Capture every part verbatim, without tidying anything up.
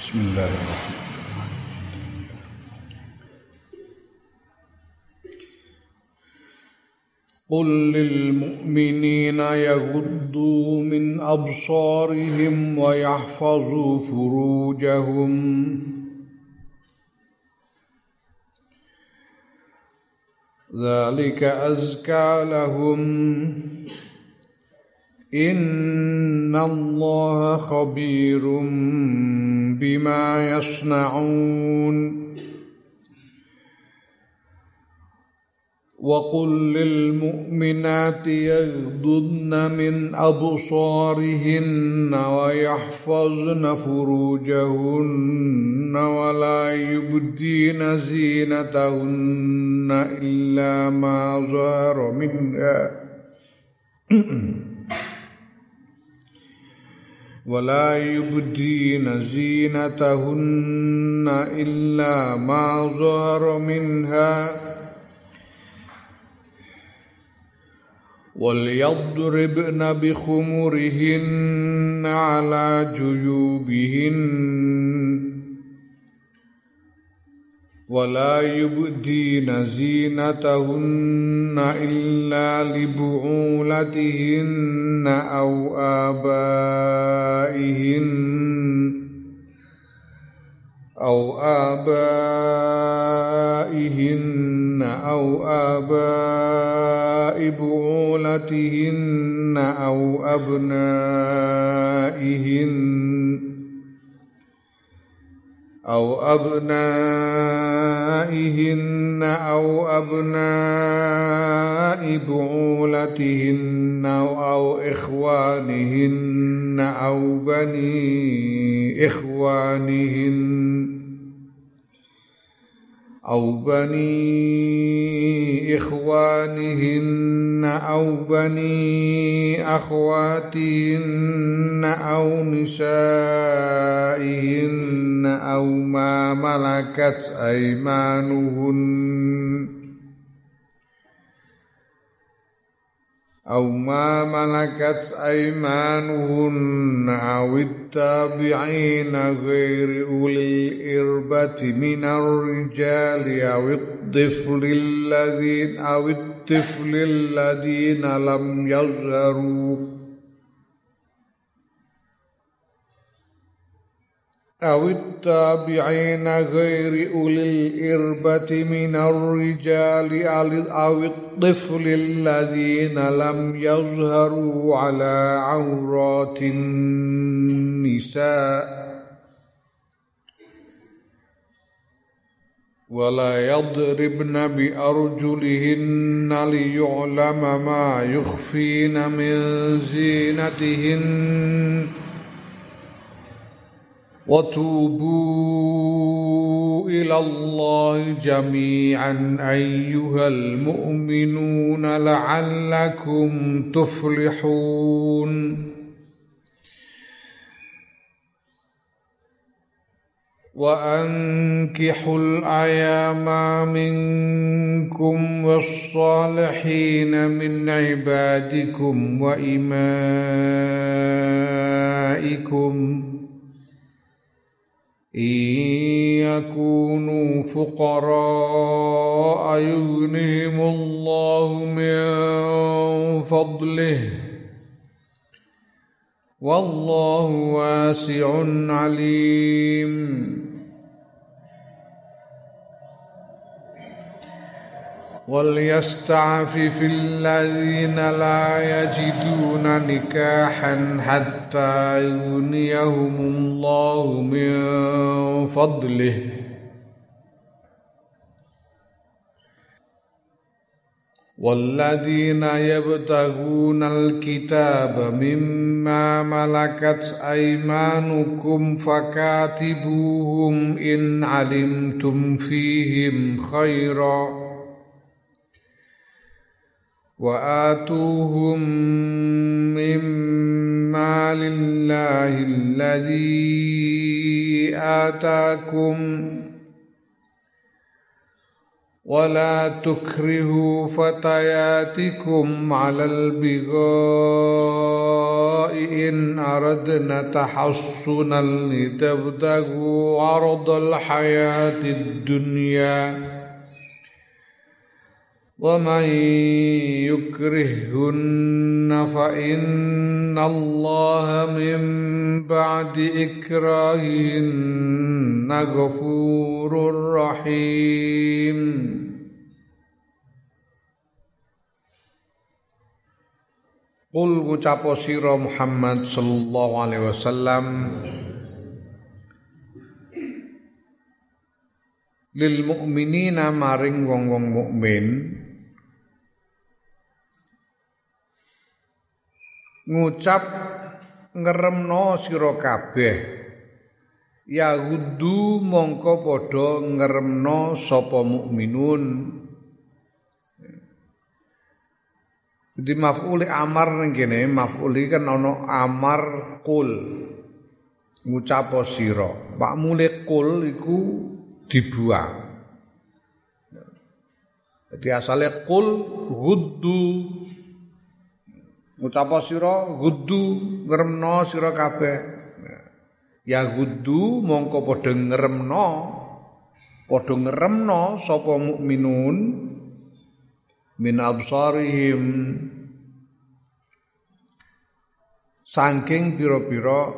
Bismillahirrahmanirrahim. Qul lil mu'minina yaghuddu min absarihim wa yahfazu furujahum dzalika azka lahum innallaha khabirum bima yasna'un wa qul lil mu'minati yaghdudna min absarihinna wa yahfazna furujahunna wa la yubdina zinatahunna illa ma zahara minha ولا يبدين زينتهن إلا ما ظهر منها وليضربن بخمرهن على جيوبهن ولا يبدين زينتهن إلا لبعولتهن أو آبائهن أو آبائهن أو آباء بعولتهن أو أبنائهن أو أبنائهن أو أبناء بعولتهن أو إخوانهن أو بني إخوانهن أو بني إخوانهن أو بني أخواتهن أو نسائهن أو ما ملكت أيمانهن أو ما ملكت أيمانهن أو التابعين غير أولي الإربة من الرجال أو الطفل الذين أو الطفل الذين لم يظهروا أو التابعين غير أولي الإربة من الرجال أو الطفل الذين لم يظهروا على عورات النساء ولا يضربن بأرجلهن ليعلم ما يخفين من زينتهن وتوبوا إلى الله جميعا أيها المؤمنون لعلكم تفلحون وأنكحوا الأيام منكم والصالحين من عبادكم وإمائكم إن يكونوا فقراء يغنهم الله من فضله والله واسع عليم وليستعفف الذين لا يجدون نكاحا حتى يغنيهم الله من فضله والذين يبتغون الكتاب مما ملكت أيمانكم فكاتبوهم إن علمتم فيهم خيرا وآتوهم مما لله الذي آتاكم ولا تكرهوا فتياتكم على البغاء إن أردنا تحصنا لتبتغوا عرض الحياة الدنيا ومن يكرهن فإن الله من بعد إكراههن غفور رحيم. Qul ngucapo sira Muhammad sallallahu alaihi wasallam lil mukminina maring wong-wong mukmin ngucap ngeremno sira kabeh ya gudu mongko padha ngeremno sapa mukminun. Jadi maf'ul amar ning kene maf'ul kan ana amar qul ngucap sira pak mule qul iku dibuang. Jadi asale qul guddu ngucap sira guddu ngremno sira kabeh ya guddu mongko padha ngremno padha ngremno sapa mukminun min absarihim saking pira-pira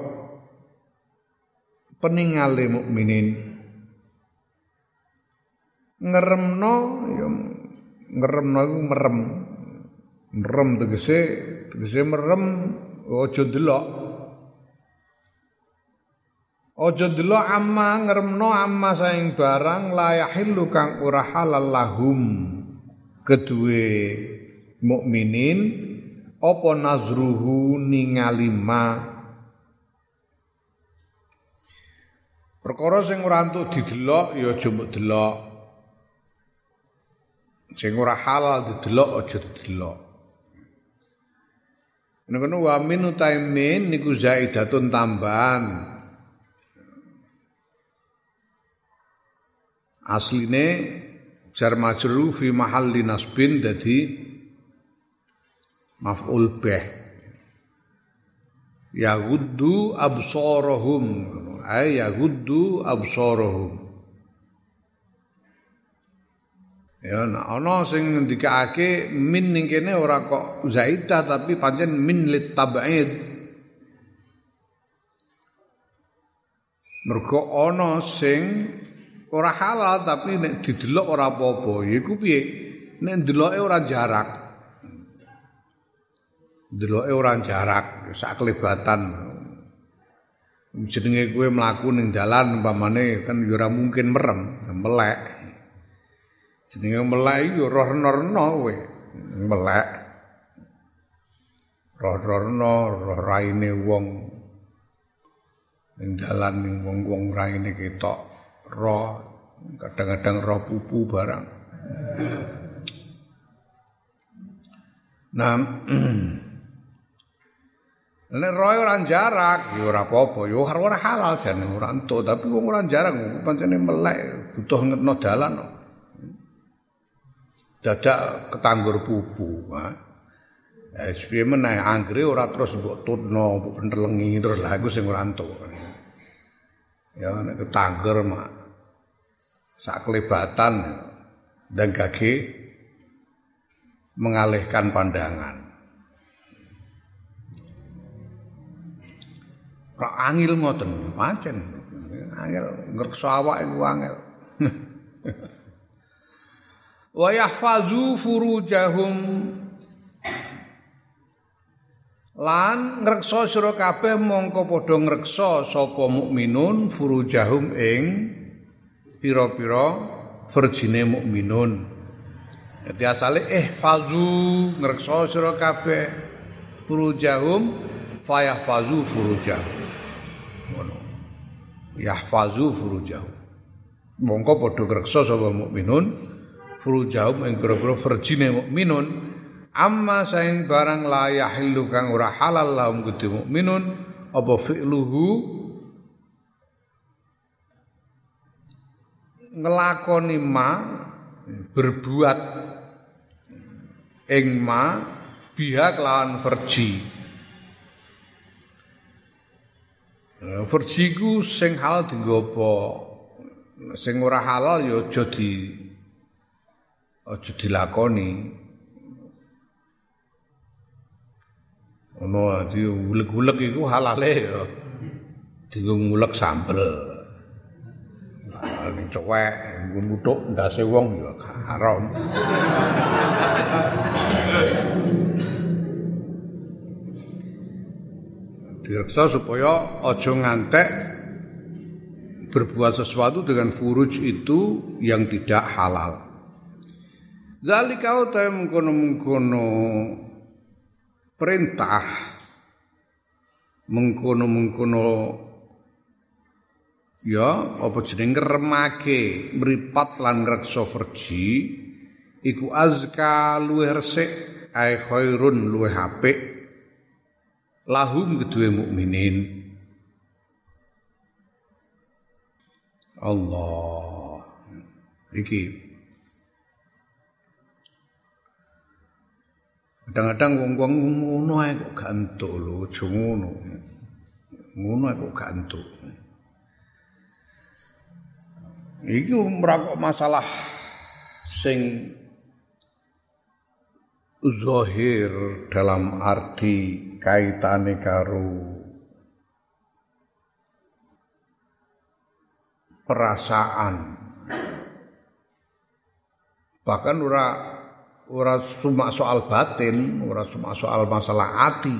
peningale mukminin. Ngeremno ya ngeremno iku merem. Merem tegese tegese merem aja delok. Aja delok amma ngeremno amma saing barang la yahillu kang ora halal lahum kedue mukminin apa nazruhu ningali ma perkara sing ora entuk didelok ya aja mbok delok. Sing ora halal didelok aja didelok. Nek ngono wa min utaimin niku zaidatun tambahan. Asline jar majrur fi mahalli nasbin dadi maf'ul bih. Ya guddu absarahum ay ya guddu absarahum. Ya ana sing ngendikake min ning kene ora kok zaidah tapi pancen min lit tab'id. Mergo ana sing ora halal tapi nek didelok ora apa-apa. Iku piye? Nek ndeloke ora jarak. Ndeloke ora jarak, sak kelebatan. Jenenge kowe mlaku ning dalan umpamane kan ya ora mungkin merem, melek. Jenenge melek yo roh rena kowe. Melek. Roh rena, roh raine wong ning dalan ning wong-wong raine ketok. Roh kadang-kadang roh pupu barang. Nah, nek roh ora jarak ya ora apa-apa, ya ora halal jane ora entuk, tapi wong ora jarak pancene melek butuh ngetno dalan. Dadak ketanggur pupu, ha. Eh piye meneh anggere ora terus mbok tutno, mbok pentelengi terus lha iku sing ora entuk. Ya nek ketanggur mak sak kelebatan dan gage mengalihkan pandangan. Kok angil ngoten pancen. Angel ngrekso awak iku angel. Wa yahfazu furujahum lan ngrekso sira kabeh mongko padha ngrekso sapa mukminun furujahum ing pira-pira verjine mukminun. Dadi asale ihfazu ngrekso sira kabeh furujahum fayahfazu furujahum. Ngono. Yahfazu furujahum. Mongko padha ngrekso sapa mukminun furujahum ing pira-pira verjine mukminun amma saing barang la yahillu kang ora halal lahum kudu mukminun apa fi'luhu ngelakoni ma berbuat ing ma biha kelawan farji. Farji ku sing halal dienggo apa? Sing ora halal ya aja di aja dilakoni. Ono di ulek-ulek iku halale ya dienggo ngulek sambel. Ning cowek nggo nuthuk ndase wong ya haram. Direksa supaya aja ngantek berbuat sesuatu dengan furuj itu yang tidak halal. Zalika utahe mengkono-mengkono perintah mengkono-mengkono ya apa jeneng ngremake mripat lan ngreksa verji iku azka luwih resik ae khairun luwih apik lahum kedue mukminin. Allah iki kadang-kadang wong-wong ngono ae kok gak entuk lho, aja ngono. Ngono ae kok gak entuk. Iki ora kok masalah sing zahir dalam arti kaitane karo perasaan. Bahkan ora ora cuma soal batin, ora cuma soal masalah hati.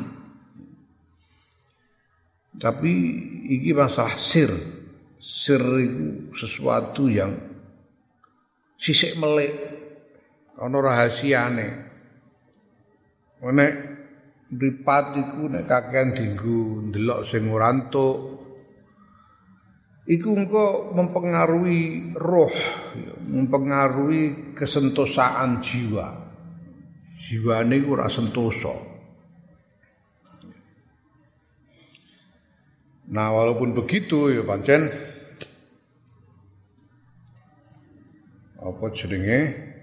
Tapi iki masalah sir. Sir itu sesuatu yang sisik melek, ana rahasiane. Nek mripat iku nek kakean dienggo ndelok sing ora entuk, iku engko mempengaruhi roh, mempengaruhi kesentosaan jiwa. Jiwane iku ora sentosa. Nah, walaupun begitu ya pancen apa jenenge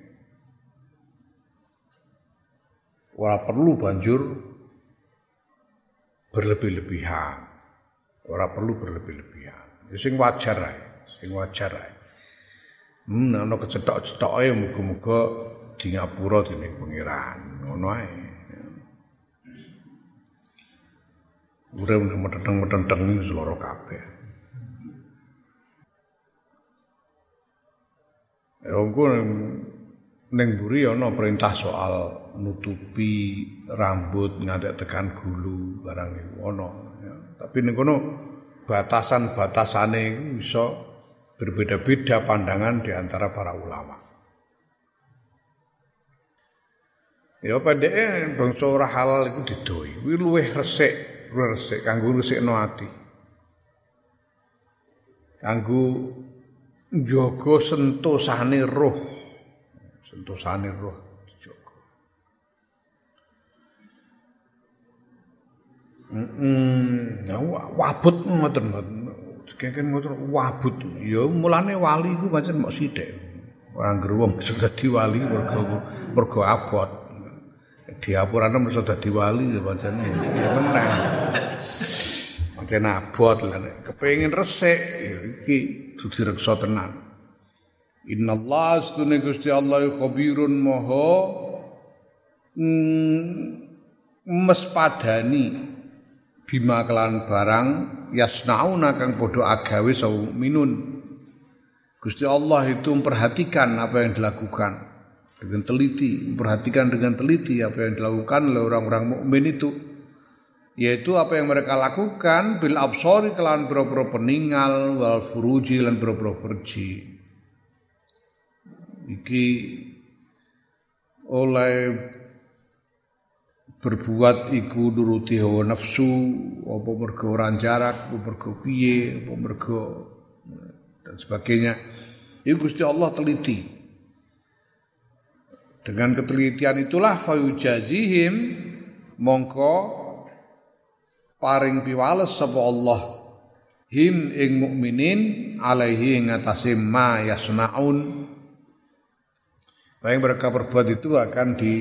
ora perlu banjur berlebih-lebihan. Ora perlu berlebih-lebihan. Ya sing wajar ae, sing wajar ae. Hmm, ana kecetok-cetoke muga-muga di ngapura dening pangeran. Ngono ae. Urip meteng-meteng wis lara kabeh. Ya engko ning mburi ana perintah soal nutupi rambut ngantek tekan gulu barang iku ana ya. Tapi ning kono batasan-batasane iku bisa berbeda-beda pandangan di antara para ulama. Ya pendeke bangsa ora halal iku didoi. Kuwi luwih resik, luwih resik kanggo ngrusikno ati. Kanggo njaga sentosane roh. Sentosane roh dijaga. Heeh, ya wabut ngoten ngoten. Keken ngoten wabut. Ya mulane wali iku pancen mok sithik. Ora ngger wong sing dadi wali mergo mergo abot. Diapurane mesti dadi wali ya pancen ya meneh. Pancen abot lha nek kepengin resik ya iki dudu reksa tenan. Innallaha astune Gusti Allah khabirun maha mespadani bima kelan barang yasnauna kang padha agawe sawu minun. Gusti Allah itu memperhatikan apa yang dilakukan dengan teliti, memperhatikan dengan teliti apa yang dilakukan oleh orang-orang mukmin itu, yaitu apa yang mereka lakukan bil absori kelan boro-boro peninggal wal furuji lan boro-boro farji. Iki oleh berbuat iku nuruti hawa nafsu, apa mergo ora jarak, apa mergo piye, apa mergo dan sebagainya. Iku Gusti Allah teliti. Dengan ketelitian itulah fayujazihim mongko paring piwales sapa Allah him ing mukminin alaihi ing atase ma yasnaun yang mereka perbuat itu akan di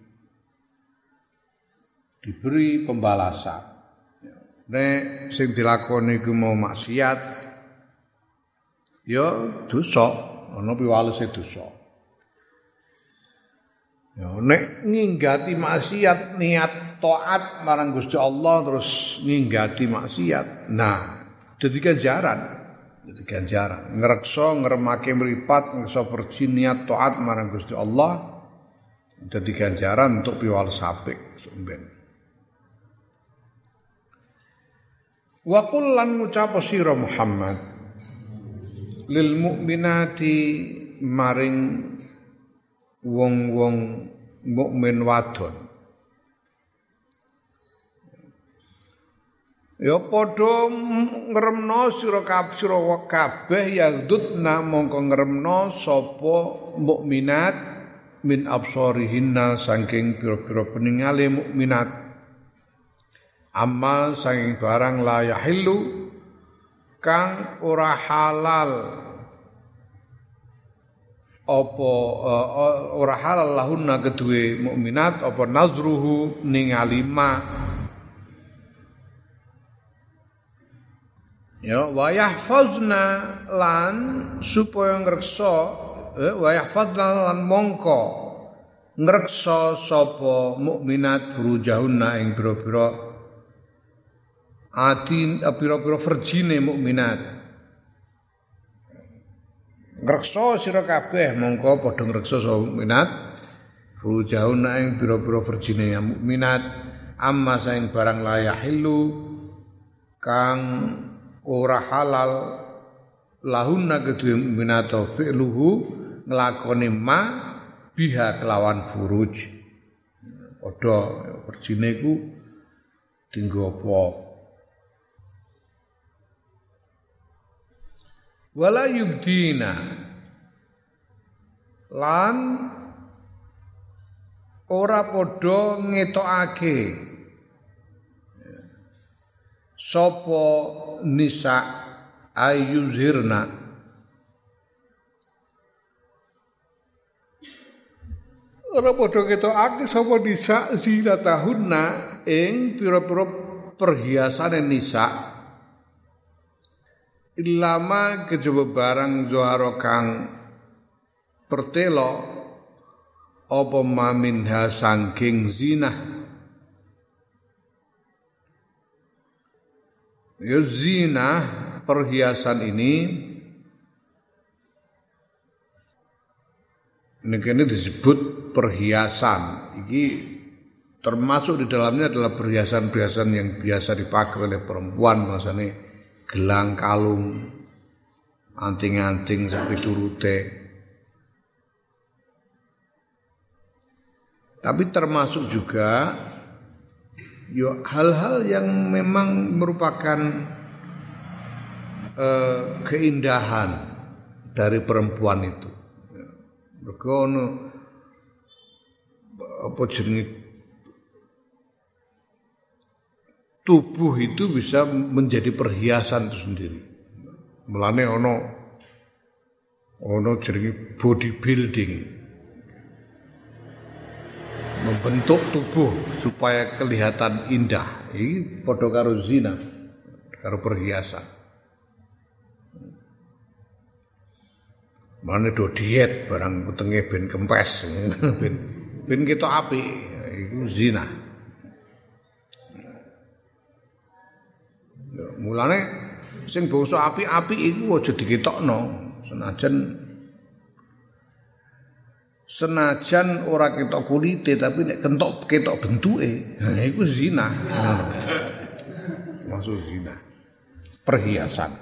diberi pembalasan. Nek sing dilakoni iku mau maksiat ya dosa, ana piwalese dosa. Ya nek nginggati maksiat niat taat marang Gusti Allah terus nginggati maksiat. Nah, dadi ganjaran. Dadi ganjaran. Ngrekso ngremake mripat ngrekso perji niat taat marang Gusti Allah dadi ganjaran untuk piwales apik sumben. Wa qul lan ngucap sira Muhammad lil mukminati maring wong-wong mukmin wadon ya padha ngremno sira kabeh yaghdudna mongko ngremno sapa mukminat min absarihinna saking pira-pira peningale mukminat amma saking barang la yahillu kang ora halal apa uh, ora halal lahunna kedue mukminat apa nazruhu ningali ma ya wa yahfazna lan supaya ngreksa eh, wa yahfazna lan mongko ngreksa sapa mukminat burujahunna ing pira-pira atin pira-pira verjine mukminat ngreksa sira kabeh mongko padha ngreksa sapa mukminat rujauna ing pira-pira verjine mukminat amma saing barang layahillu kang ora halal lahunna kedue mukminat fi'luhu nglakoni ma biha kelawan furuj padha verjine ku dinggo apa wala yubdina lan ora padha ngetokake sapa nisa ayuzhirna ora padha ngetokake sapa nisa zinatahunna ing pira-pira perhiasane nisa ilama kejaba barang zoharo kang pertelo apa maminha sangking zinah ya zinah perhiasan ini ini disebut perhiasan ini termasuk di dalamnya adalah perhiasan-perhiasan yang biasa dipakai oleh perempuan maksudnya gelang kalung, anting-anting sampai turute. Tapi termasuk juga yo hal-hal yang memang merupakan eh, keindahan dari perempuan itu. Mergo ono apa jenenge tubuh itu bisa menjadi perhiasan itu sendiri. Mulane ono ono jenenge bodybuilding. Membentuk tubuh supaya kelihatan indah. Iki padha karo zina, karo perhiasan. Mulane do diet barang wetenge ben kempes, ben ben ketok apik, iku zina. Mulane sing bangsa apik-apik iku aja diketokno senajan senajan ora ketok kulite tapi nek kentok ketok bentuke nah iku zina. Termasuk zina. Perhiasan.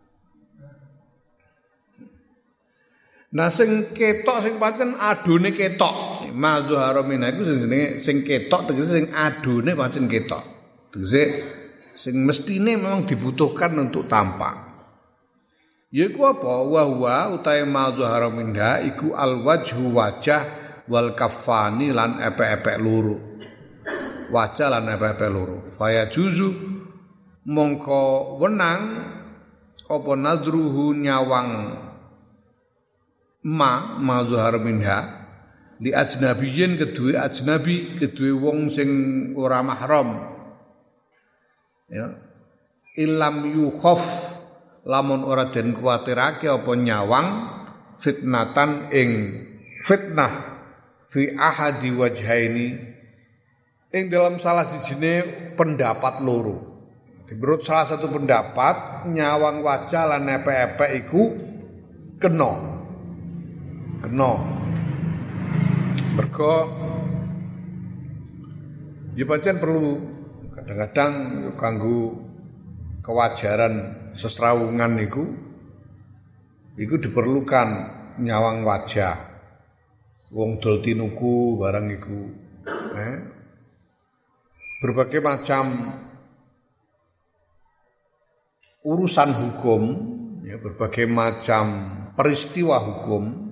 Nah sing ketok sing pancen adune ketok. Mazhara minha iku sing jenenge sing ketok tegese sing adune pancen ketok. Tegese sing mestine memang dibutuhkan untuk tampak. Yaiku apa? Wa huwa utahe mazhara minha iku alwajhu wajah wal kaffani lan epek-epek loro. Wajah lan epek-epek loro. Faya juzu mongko wenang apa nadruhu nyawang ma mazhar minha li ajnabiyin kedue ajnabi kedue wong sing ora mahram ya ilam yukhaf lamun ora den kuwatirake apa nyawang fitnatan ing fitnah fi ahadi wajhaini ing dalam salah sijine pendapat loro. Menurut salah satu pendapat nyawang wajah lan epek-epek iku kena. Kena. Mergo ya pancen perlu kadang-kadang kanggo kewajaran sesrawungan niku iku diperlukan nyawang wajah. Wong dol tinuku barang iku eh berbagai macam urusan hukum, ya, berbagai macam peristiwa hukum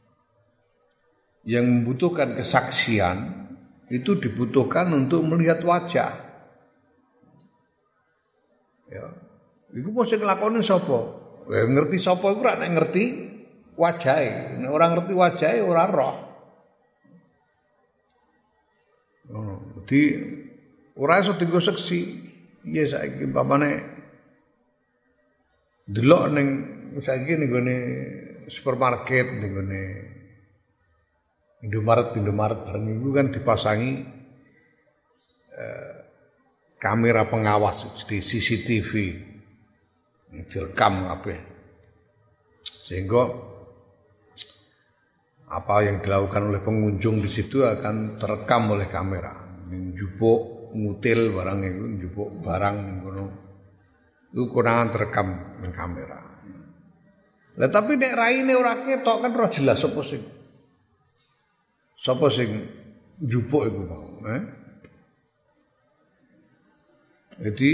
yang membutuhkan kesaksian itu dibutuhkan untuk melihat wajah. Ya, iku mesti nglakoni sapa? Ya, ngerti sapa iku ora nek ngerti wajahe. Nek ora ngerti wajahe ora roh. Oh, jadi ora iso dienggo seksi. Ya saiki umpamane delok ning saiki ning gone supermarket ning gone Indomaret Indomaret bareng iku kan dipasangi eh, kamera pengawas di C C T V direkam kabeh sehingga apa yang dilakukan oleh pengunjung di situ akan terekam oleh kamera njupuk ngutil barang iku njupuk barang ngono iku konangan terekam ning kamera. Lah tapi nek raine ora ketok kan ora jelas sapa sing sapa sing njupuk iku mau, eh? Jadi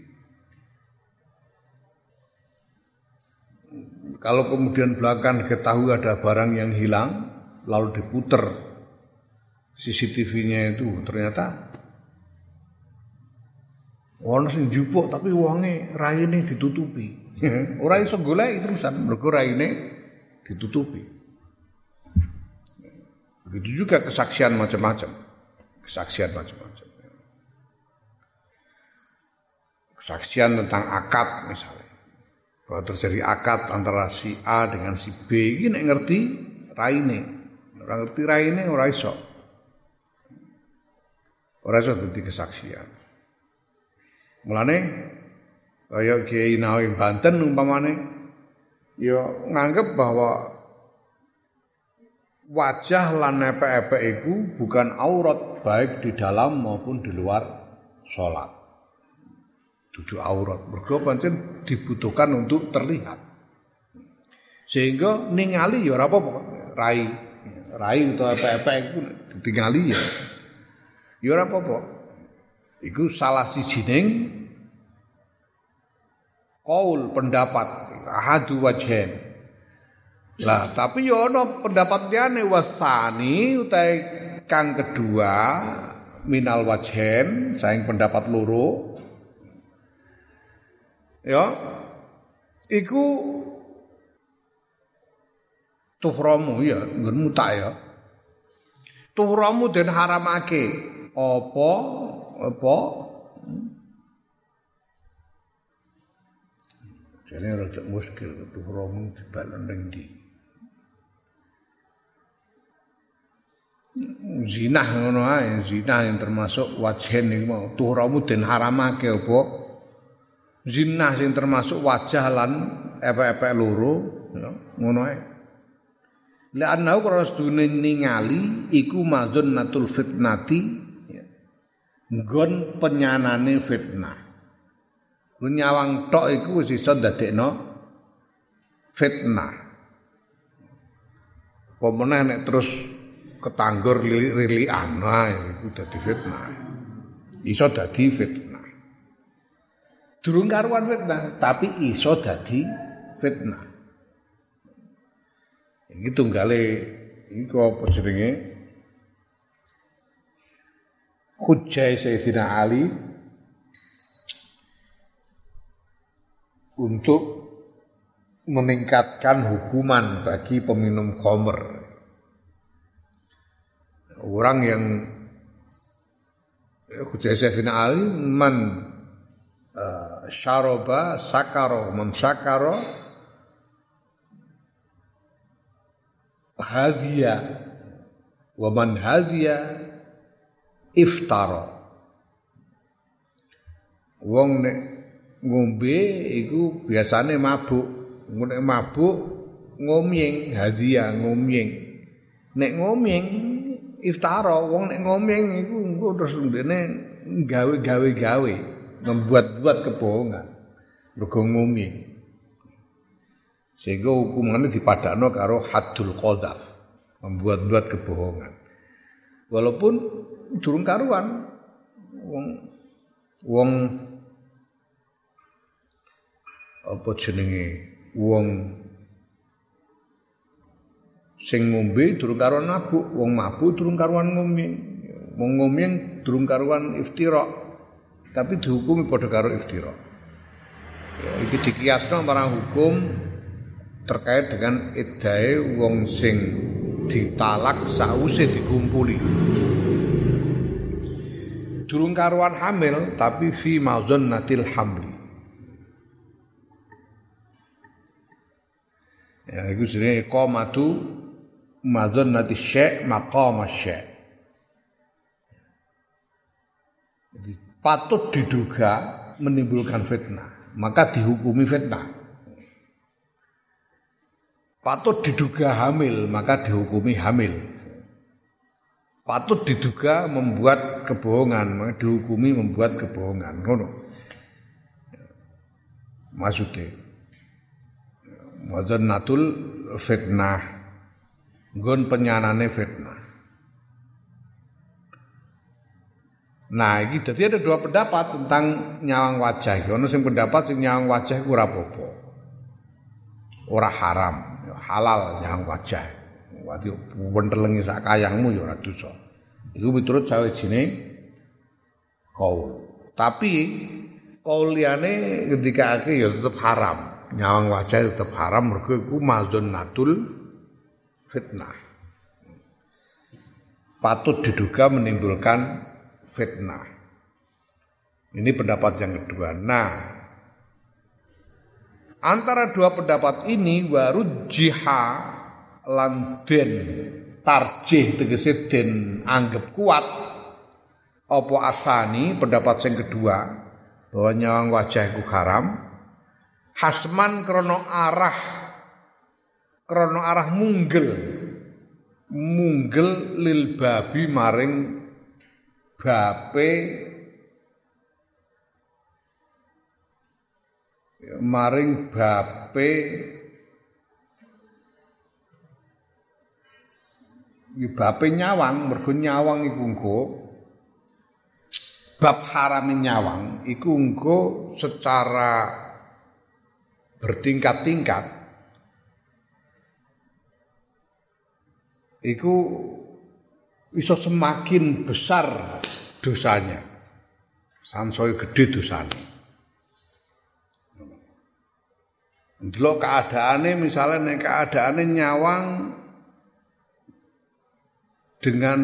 kalau kemudian belakang ketahui ada barang yang hilang lalu diputer C C T V-nya itu ternyata ono sing njupuk tapi wonge raine ditutupi. Ora iso golek terusan mergo raine ditutupi. Begitu juga kesaksian macam-macam. Kesaksian macam-macam. Kesaksian tentang akad misalnya. Bahwa terjadi akad antara si A dengan si B iki nek ngerti raine. Ora ngerti raine ora iso. Ora iso dadi kesaksian. Mulane kaya Kiai Nawawi Banten umpamane ya nganggep bahwa wajah lan epek-epek iku bukan aurat baik di dalam maupun di luar salat. Dudu aurat. Mergo pancen dibutuhkan untuk terlihat. Sehingga ningali ya ora apa-apa. Rai, rai utawa epek-epek iku ditingali ya. Ya ora apa-apa. Iku salah sijining qaul pendapat ahadu wajhen. Lah tapi ya ana pendapat liyane wasani utahe kang kedua minal wajhen saing pendapat loro. Ya iku tuhramu ya nggonmu tak ya. Tuhramu den haramake apa apa jane rada muskil tuhramu dibalon ning ndi. Zina ngono ae, zina yang termasuk wajhen iki mau tuhramu den haramake apa zina sing termasuk wajah lan epek-epek loro ya ngono ae. La anau karo sedune ningali iku mazunnatul fitnati ya. Nggon penyanane fitnah. Lu nyawang tok iku wis iso ndadekno fitnah. Apa meneh nek terus ketanggur lilik-lilikan nah iku dadi fitnah. Iso dadi fitnah. Durung karuan fitnah, tapi iso dadi fitnah. Iki tunggale iku apa jenenge? Hujjah Sayyidina Ali untuk meningkatkan hukuman bagi peminum khamr. orang yang Hujjah Sayyidina Ali man uh, syaroba sakaro man sakaro hadiya wa man hadiya iftara. Wong nek ngombe iku biasane mabuk, nek mabuk ngomyeng hadiah ngomyeng. Nek ngomyeng iftara, wong nek ngomyeng iku engko terus ndene gawe-gawe-gawe, membuat-buat kebohongan. Mergo ngomyeng. Sehingga hukumannya dipadakno karo haddul qadzaf, membuat-buat kebohongan. Walaupun durung karuan wong wong apa jenenge wong sing ngombe durung karuan mabuk, wong mabuk durung karuan ngomyeng, wong ngomyeng durung karuan iftira, tapi dihukumi padha karo iftira. Ya, iki dikiasno marang hukum terkait dengan iddae wong sing ditalak sause dikumpuli. Durung karuan hamil tapi fi mazannatil hamli. Ya iku jenenge iqamatu mazannati syai' maqam syai'. Jadi patut diduga menimbulkan fitnah, maka dihukumi fitnah. Patut diduga hamil, maka dihukumi hamil. Patut diduga membuat kebohongan, maka dihukumi membuat kebohongan. Ngono. Maksudnya wazannatul fitnah, nggon penyanane fitnah. Nah, iki dadi ada dua pendapat tentang nyawang wajah. Ono sing pendapat sing nyawang wajah iku ora apa-apa. Ora haram, halal nyawang wajah. Wati wentelengi sak kayangmu ya ora dosa. Iku miturut sawijining kaul. Tapi kaul liyane ngendikake ya tetep haram. Nyawang wajah tetap haram mergo iku mazannatul fitnah. Patut diduga menimbulkan fitnah. Ini pendapat yang kedua. Nah, antara dua pendapat ini warujjiha lan den tarjih tegese den anggap kuat apa asani pendapat yang kedua bahwa nyawang wajah iku haram. Hasman krono arah krono arah munggel munggel lil babi maring bape maring bape iki bape nyawang mergo nyawang iku engko bab harame nyawang iku engko secara bertingkat-tingkat iku iso semakin besar dosanya sansaya gede dosane. Ndelok keadaane misalnya nek keadaane nyawang dengan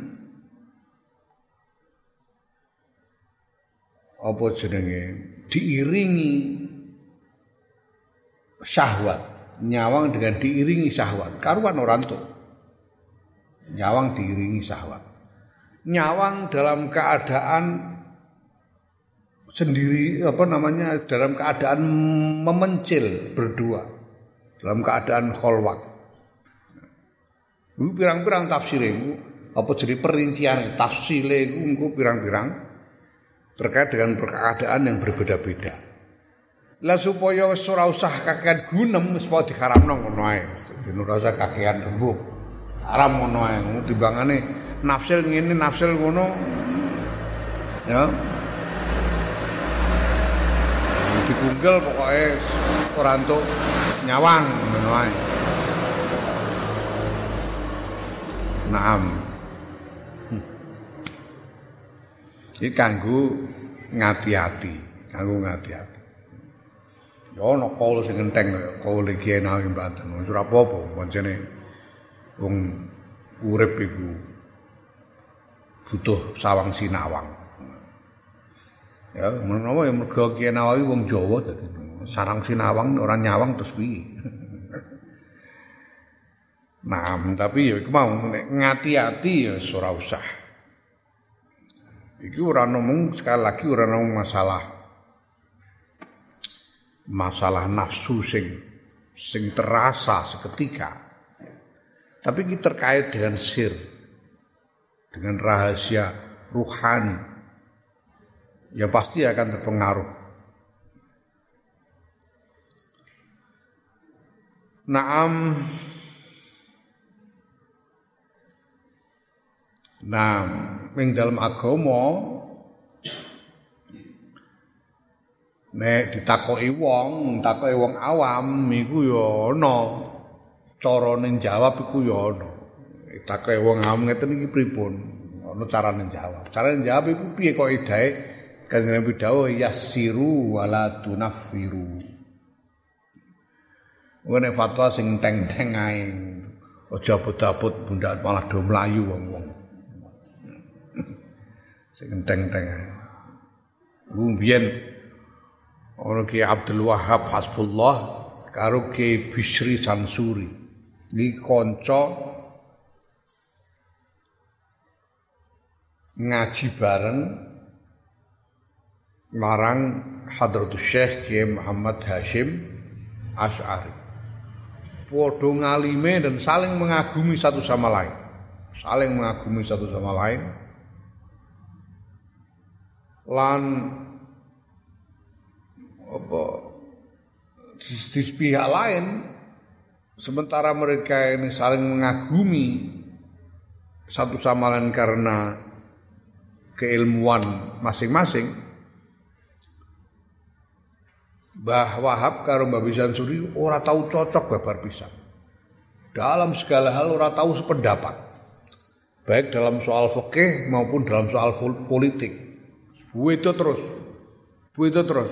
apa jenenge diiringi syahwat, nyawang dengan diiringi syahwat. Karuan orang tuh. Nyawang diiringi syahwat. Nyawang dalam keadaan sendiri apa namanya? Dalam keadaan memencil berdua. Dalam keadaan kholwat. Iku pirang-pirang tafsire iku apa jadi perincian tafsile iku engko pirang-pirang terkait dengan keadaan yang berbeda-beda. Lah supaya wis ora usah kakean gunem wis padha diharamno ngono ae. Ben ora usah kakean rembug. Haram ngono ae. Timbangane nafsil ngene nafsil ngono. Ya. Dikunggel pokoke ora entuk nyawang ngono ae. Naam. Iki kanggo ngati-ati, kanggo ngati-ati. Ya ana kaul sing enteng kaul iki enak ing Banten. Ora apa-apa pancene wong urip iku butuh sawang sinawang. Ya, menawa ya mergo Kiai Nawawi wong Jawa dadi sarang sinawang ora nyawang terus piye. Nah, tapi ya iku mau ngati-ati ya ora usah. Iki ora ngomong sekali lagi ora ngomong masalah masalah nafsu sing sing terasa seketika. Tapi ini terkait dengan sir, dengan rahasia ruhani yang pasti akan terpengaruh. Naam. Nah, ing dalam agama nek ditakoki wong, takoki wong awam iku ya ana carane jawab iku ya ana. Ditakoki wong awam ngeten iki pripun? Ana carane jawab. Carane jawab iku piye kok idahe Kanjeng Nabi dawuh yassiru wala tunaffiru. Wene fatwa sing teng-teng ae. Aja abot-abot bundak malah do mlayu wong-wong. Sing teng-teng ae. Ku mbiyen ana Ki Abdul Wahhab Hasbullah karo Ki Bisri Sansuri. Iki kanca ngaji bareng marang Hadratus Syekh Kiai Muhammad Hashim Asy'ari. Padha ngalime dan saling mengagumi satu sama lain. Saling mengagumi satu sama lain. Lan apa di, di pihak lain sementara mereka ini saling mengagumi satu sama lain karena keilmuan masing-masing, Mbah Wahab karo Mbah Bisansuri ora tahu cocok babar pisan. Dalam segala hal ora tahu sependapat. Baik dalam soal fikih maupun dalam soal politik. Itu terus. Itu terus.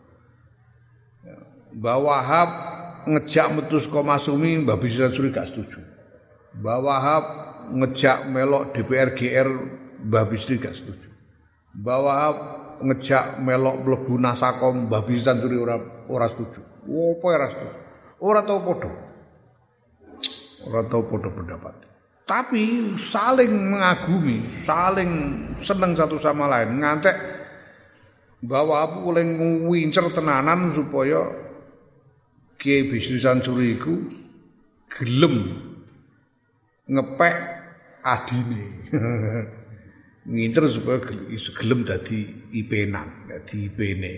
Mbah Wahab ngejak metu saka Masumi, Mbah Bisansuri gak setuju. Mbah Wahab ngejak melok D P R G R, Mbah Bisri gak setuju. Mbah Wahab ngejak melok mlebu Nasakom, Mbah Bisansuri ora ora setuju. Opo ora setuju? Ora tau padha. Ora tau padha pendapat. Tapi saling mengagumi, saling seneng satu sama lain. Ngantek Mbah Wahab oleh nguwincer tenanan supaya Kiai Bisri Sansuri iku gelem ngepek adine. Ngincer supaya gelem dadi ipenan, dadi ipene.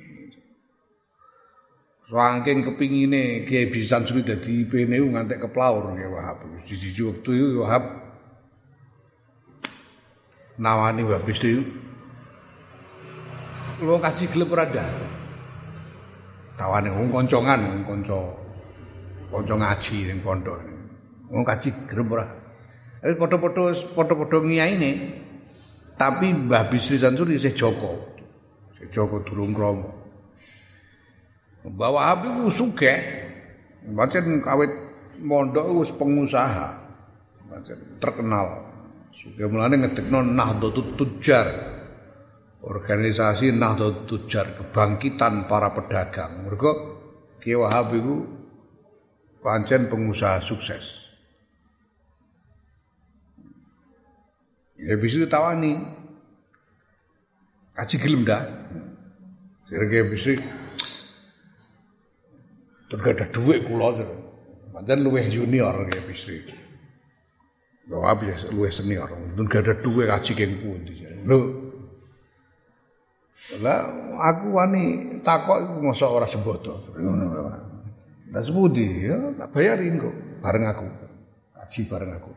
Saking kepingine Kiai Bisri Sansuri dadi ipene ngantek keplaur Kiai Wahab. Siji wektu iku Wahab nawani Mbah Bisri. Lu kaji gelem ora ndak. Tawane wong koncongan, wong kanca kanca ngaji ning pondok. Wong kaji gelem ora. Wis padha-padha padha-padha ngiyaine. Tapi Mbah Bisri Sansuri isih Joko. Isih Joko durung krama. Mbah Wahab iku sugih. Pancen kawit mondok wis pengusaha. Pancen terkenal. Sugih mulane ngedekno Nahdlatul Tujjar. Organisasi Nahdlatul Tujjar, kebangkitan para pedagang. Mergo Kiai Wahab iku pancen pengusaha sukses. Ya bisa tawani. Kaji gelem dah. Kira-kira bisa tergada duit kula. Pancen luwih junior Kiai Bisri. Lho habis luwih senior. Tergada duit kaji keng pundi. Lho lah aku wani takok iku mosok ora sembodo. Ngono lho. Lah sepundi ya tak bayarin kok bareng aku. Kaji bareng aku.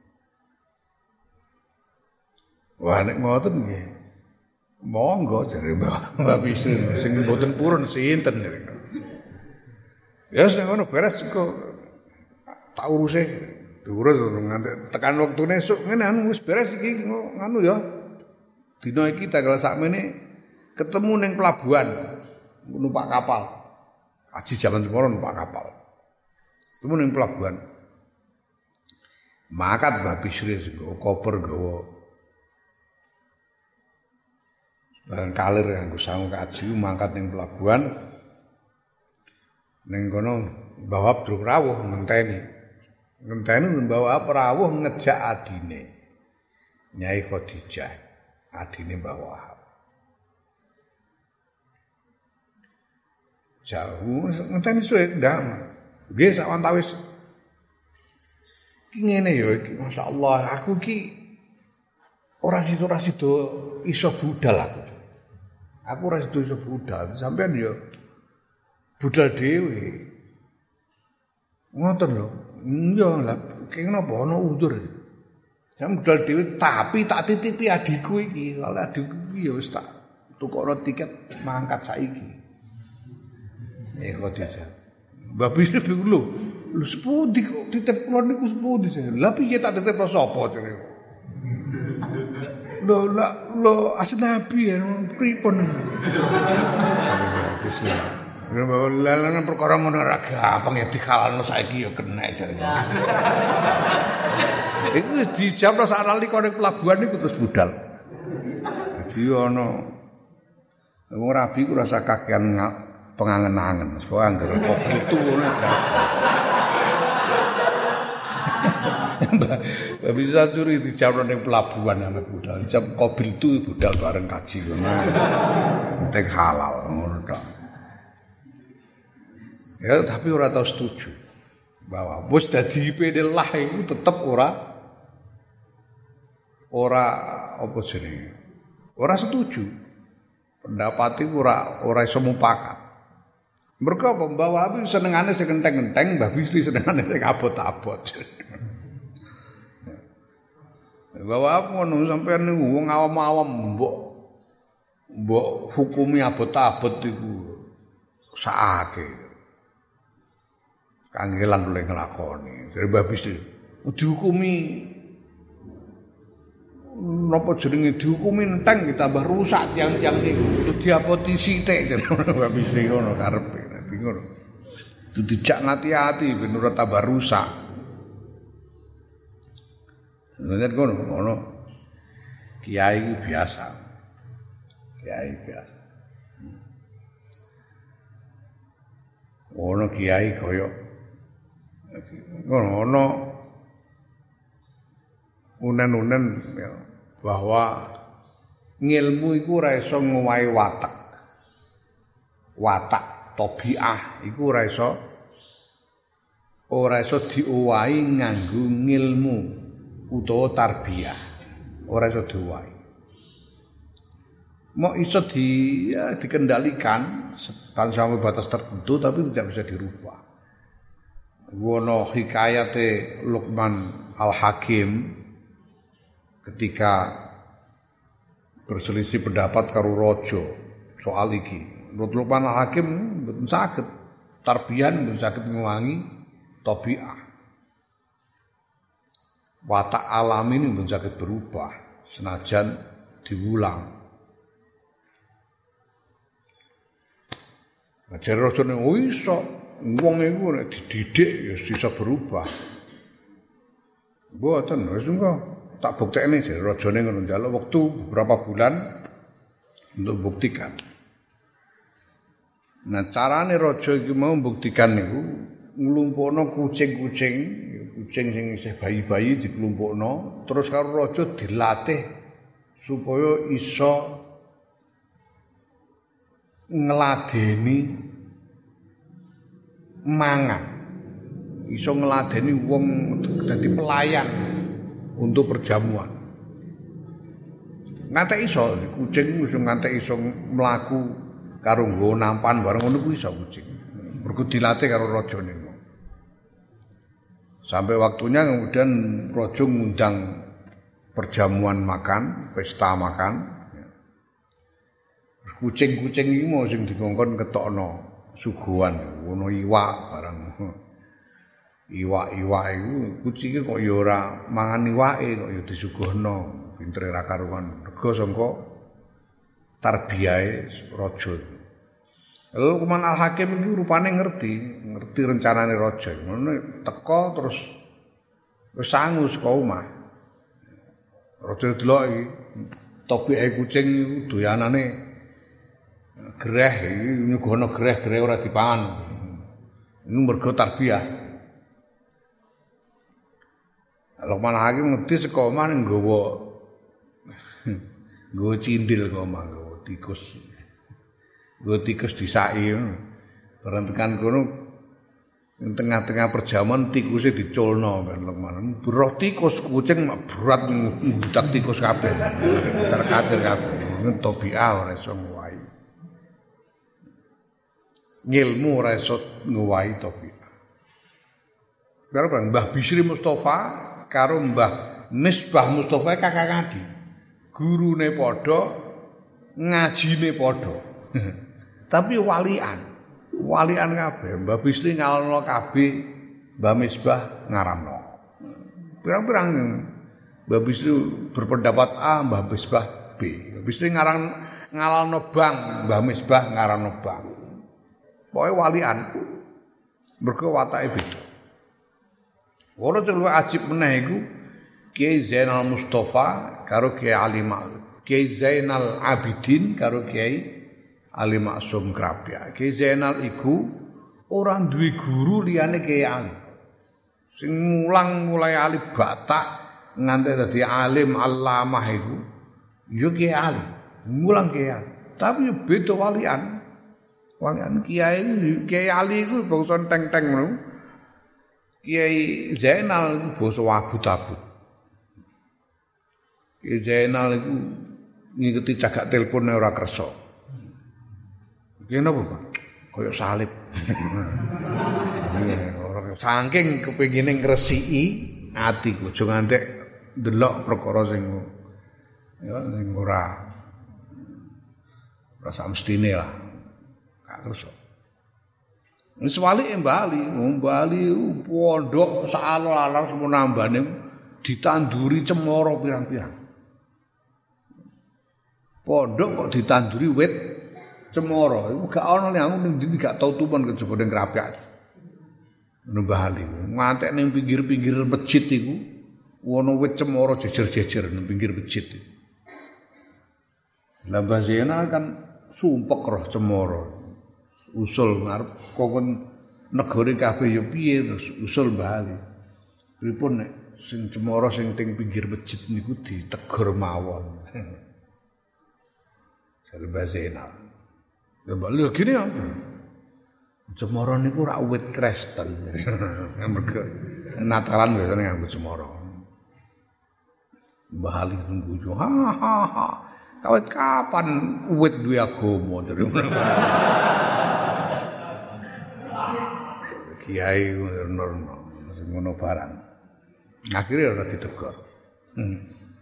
Wah nek ngoten nggih. Monggo jare Mbak Bisri sing mboten purun sinten. Ya sing ngono beres kok tak uruse. Diurus nganti tekan wektune esuk ngene anu wis beres iki nganu ya. Dina iki tanggal sakmene ketemu ning pelabuhan numpak kapal. Haji jalan semoro numpak kapal. Ketemu ning pelabuhan. Makat Mbah Bisri nggawa koper nggawa Bareng kalir nganggo sangu kaji mangkat ning pelabuhan. Ning kono Mbah Abdul rawuh ngenteni. Ngenteni Mbah rawuh ngejak adine. Nyai Khadijah, adine Mbah Wahab. Jauh ngenteni suwe ndang. Nggih sak wantawis. Ki ngene ya iki masyaallah aku ki ora sido ora sido iso budal aku. Aku ora sido iso budal, sampean ya budal dhewe. Ngoten lho. Iya lah, kene napa ana uzur. Jam budal dhewe tapi tak titipi adikku iki. Soale adikku iki ya wis tak tukokno tiket mangkat saiki. Eh kok dijak. Mbah Bisri bingung lho. Lho sepundi kok titip kula niku sepundi. Lah piye tak titip sapa jare. Lho lah lho asnabi ya pripun. Lalan perkara ngono ora gampang ya dikalalno saiki ya kenek jare. Iku dijawabno sak lali kok ning pelabuhan niku terus budal. Dadi ana wong rabi ku rasa kakean pengangen-angen. Soale anggere kopi itu ngono Mbak bisa curi dijawabno ning pelabuhan ana budal. Jam kopi itu budal bareng kaji ngono. Penting halal ngono tok. Ya tapi ora tau setuju bahwa wis dadi I P D lah iku tetep ora ora apa jenenge ora setuju pendapat iku ora ora iso mupakat mergo apa Mbah Wahab senengane sing enteng-enteng Mbah Bisri senengane sing abot-abot Mbah Wahab ngono sampeyan niku wong awam-awam mbok mbok hukumi abot-abot iku sakake kangelan oleh nglakoni. Dari Mbah Bisri dihukumi napa jenenge dihukumi enteng ditambah rusak tiang-tiang niku. Kudu diapoti sithik jare Mbah Bisri ngono karepe. Dadi ngono. Kudu dijak ngati-ati ben ora tambah rusak. Nek ngono ngono. Kiai biasa. Kiai biasa. Ono kiai kaya ngono unen-unen ya, bahwa ngilmu iku ora iso ngowahi watak. Watak tabiah iku ora iso ora iso diowahi nganggo ngilmu utawa tarbiyah. Ora iso diowahi. Mau iso di ya, dikendalikan sampai batas tertentu tapi tidak bisa dirubah. Wono hikayate Luqman Al-Hakim ketika berselisih pendapat karo raja soal iki. Menurut Luqman Al-Hakim mboten saged tarbiyah mboten saged nguwangi tabiah. Watak alami ini mboten saged berubah senajan diulang. Ajar rasane oh iso wong iku nek dididik ya bisa berubah. Mboten wis engko tak buktekne jare rajane ngono njaluk wektu beberapa bulan untuk buktikan. Nah carane raja iki mau membuktikan niku nglumpukno kucing-kucing, kucing sing isih bayi-bayi dikelumpukno terus karo raja dilatih supaya iso ngladeni mangan iso ngladeni wong dadi pelayan untuk perjamuan ngantek iso kucing iso ngantek iso mlaku karo nggo nampan bareng ngono kuwi iso kucing mergo dilatih karo raja niku sampai waktunya kemudian raja ngundang perjamuan makan pesta makan kucing-kucing iki mau sing dikongkon ketokno suguhan ngono iwak barang iwak-iwak iku kucinge kok ya ora mangan iwake kok ya disuguhno pintere ra karuan rega sangka tarbiyahe raja. Lalu Luqman Al-Hakim iki rupane ngerti, ngerti rencanane raja. Ngono teko terus wis sangu saka omah. Raja delok iki tobike kucing doyanane greh nyugono greh-greh ora dipangan. Iku mergo tarbiyah. Lukman Hakim ngedi saka omah nggawa nggawa cindil kok omah nggawa tikus. Nggawa tikus disaki. Bareng tekan kono ing tengah-tengah perjamuan tikusnya diculno kan Lukman. Beroh tikus kucing mak berat ngudak tikus kabeh. Terkadir kabeh. Tobiah ora iso ngowahi. Ngilmu ora iso ngowahi tobiah. Karo Mbah Bisri Mustafa karo Mbah Misbah Mustafa kakak adik. Gurune padha, ngajine padha. Tapi walian. Walian kabeh, Mbah Bisri ngalno kabeh, Mbah Misbah ngaramno. Pirang-pirang Mbah Bisri berpendapat A, Mbah Misbah B. Mbah Bisri ngarang ngalno bang, Mbah Misbah ngaramno bang. Pokoke walian. Mergo watake beda. Ora celu ajib meneh iku Kiai Zainal Mustafa karo Kiai Ali Ma'ruf. Kiai Zainal Abidin karo Kiai Ali Maksum Krapya. Kiai Zainal iku ora duwe guru liyane Kiai Ali. Sing mulang mulai Ali Batak nganti dadi alim allamah iku ya Kiai Ali. Mulang Kiai Ali. Tapi yo beda walian. Walian Kiai Kiai Ali iku bangsa teng-teng ngono. Kiai Zainal basa wabut-abut. Kiai Zainal iku ngikuti cagak telepone ora kersa. Kene apa, Pak? Kaya salib. Saking kepengine ngresiki atiku, aja ngantek ndelok perkara sing ya sing ora ora samestine lah. Gak kersa. Wis walike Bali, Bali pondok saalo-alo semono ambane ditanduri cemara pirang-pirang. Pondok kok ditanduri wit cemara, iku gak ana ning aku ning ndi gak tau tumen kejaba ning Krapyak. Nang Bali, ngantek ning pinggir-pinggir masjid iku ana wit cemara jejer-jejer ning pinggir masjid. Lah Mbah Zainal kan sumpek roh cemara. Usul ngarep kokon negara kabeh ya piye terus usul Bali. Pripun nek sing cemara sing teng pinggir masjid niku ditegur mawon. Jare Mbah Zainal. Ya bali gini apa? Cemara niku rak wit Kristen. Mergo Natalan biasane nganggo cemara. Mbah Ali tunggu ha ha ha. Kawit kapan wit duwe agama dari Kiai ngono ngono barang. Akhirnya ora ditegur. Hmm.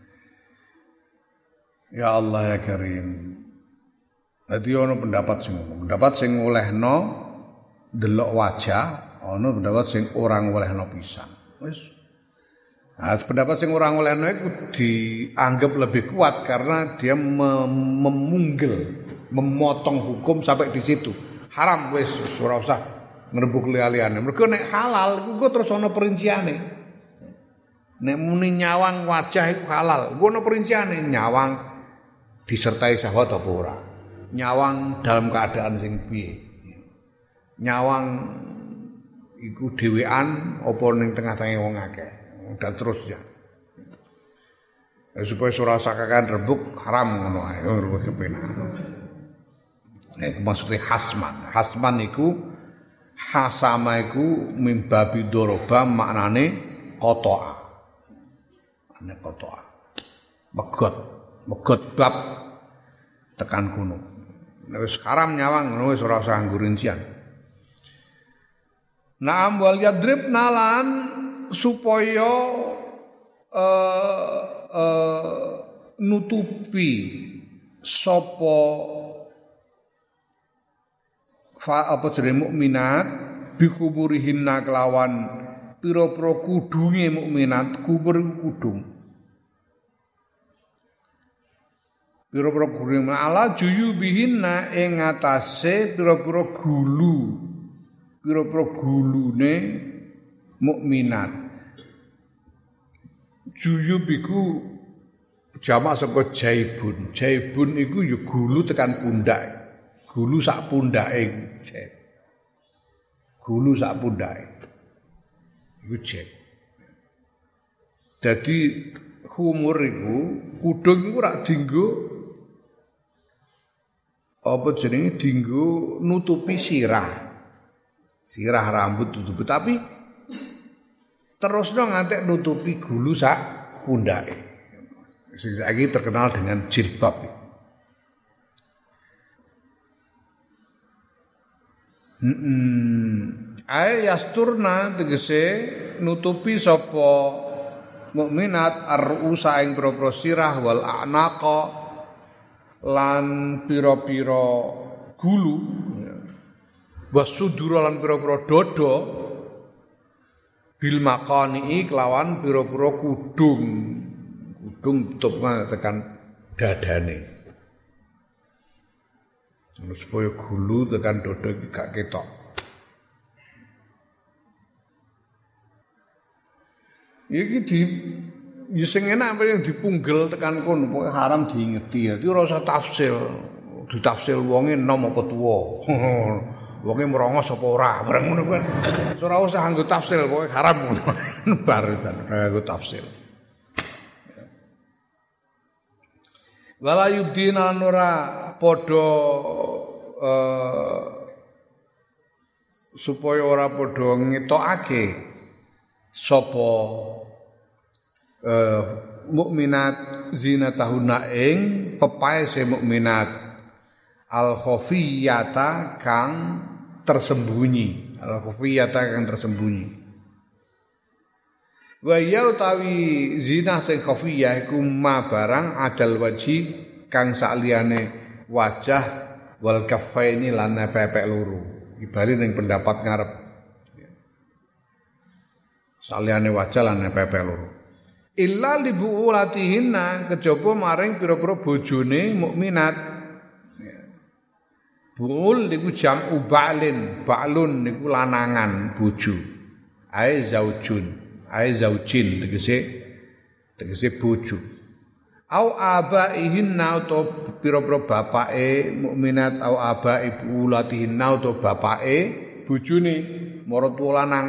Ya Allah ya Karim. Dadi ana pendapat sing ngono, pendapat sing olehno delok wajah, ana pendapat sing ora olehno pisan. Wis. Nah, pendapat sing ora olehno iku dianggap lebih kuat karena dia mem memunggil, memotong hukum sampai di situ. Haram wis ora usah ngrembug liya-liyane. Mergo nek halal iku terus ana perinciane. Nek muni nyawang wajah iku halal, iku ana perinciane, nyawang disertai syahwat apa ora. Nyawang dalam keadaan sing piye. Nyawang iku dhewean apa ning tengah-tengah wong akeh dan terusnya. Ya, supaya ora sakakan rebuk haram ngono ae ora kepenak. Nek maksudnya hasman. Hasman iku hasama iku mimbabi doroba maknane qata'a. Ane qata'a. Megot, megot bab tekan kuno. Nek wis karam nyawang ngono wis ora usah nganggo rincian. Naam wal yadrib nalan supaya uh, uh, nutupi sapa fa apa jenenge mukminat bikuburihinna kelawan pira-pira kudunge mukminat kubur kudung pira-pira kudung ala juyubihinna ing atase pira-pira gulu pira-pira gulune mukminat juyub iku jamak saka jaibun. Jaibun iku ya gulu tekan pundak. Gulu sak pundake. Gulu sak pundake. Iku jaib. Dadi khumur iku kudung iku rak dienggo apa jenenge dienggo nutupi sirah. Sirah rambut tutupi tapi terusno ngantek nutupi gulu sak pundake. Sing saiki terkenal dengan jilbab. Hmm, ae yasturna tegese nutupi sapa mukminat ar-rusa ing pira-pira sirah wal a'naqa lan pira-pira gulu wasudura lan pira-pira dada bil makani kelawan pira-pira kudung kudung tutup tekan dadane supaya gulu tekan dada iki gak ketok. Iki di ya sing enak apa yang dipunggel tekan kono pokoke haram diingeti. Dadi ora usah tafsil. Ditafsil wonge enom apa tuwa. Wonge merongos apa ora. Bareng ngono kuwi. Ora usah nganggo tafsil pokoke haram ngono. Barusan nganggo tafsil. Wala yubdina ora padha uh, supaya ora padha ngetokake sapa uh, mukminat zinatahuna ing pepaese mukminat al khafiyata kang tersembunyi al khafiyata kang tersembunyi wa ya utawi zina sing khafiyah iku ma barang adal waji kang sakliyane wajah wal kaffaini lan pepek loro ibali ning pendapat ngarep sakliyane wajah lan pepek loro illa li buulatihinna kejaba maring pira-pira bojone mukminat buul niku jam'u ba'lin ba'lun niku lanangan bojo ae zaujun ae zaujin tegese tegese bojo au abaihinna utawa pira-pira bapake mukminat au abai buulatihinna utawa bapake bojone maratuwa lanang